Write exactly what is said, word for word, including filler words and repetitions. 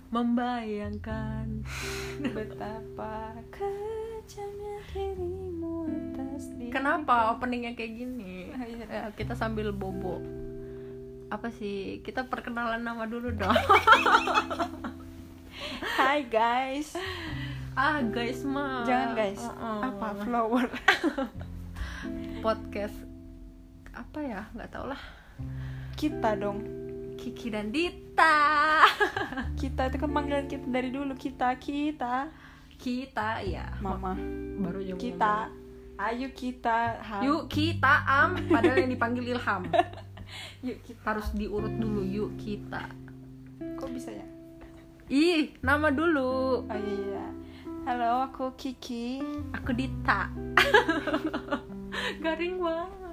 membayangkan betapa kejamnya dirimu atas diri. Kenapa openingnya kayak gini? Ah, iya. Ya, kita sambil bobo. Apa sih? Kita perkenalan nama dulu dong. Hai guys. Ah guys mah. Jangan guys. Uh-uh. Apa flower? Podcast apa ya? Nggak tau lah. Kita dong. Kiki dan Dita. Kita itu kan panggilan kita dari dulu. Kita kita. Kita ya. Mama. Baru aja mau Kita. ngomong. Ayo kita. Ham. Yuk kita am. Padahal yang dipanggil Ilham. Yuk kita. Harus diurut dulu. Yuk kita. Kok bisa ya? Ih, nama dulu. Oh iya. Halo, aku Kiki. Aku Dita. Garing banget.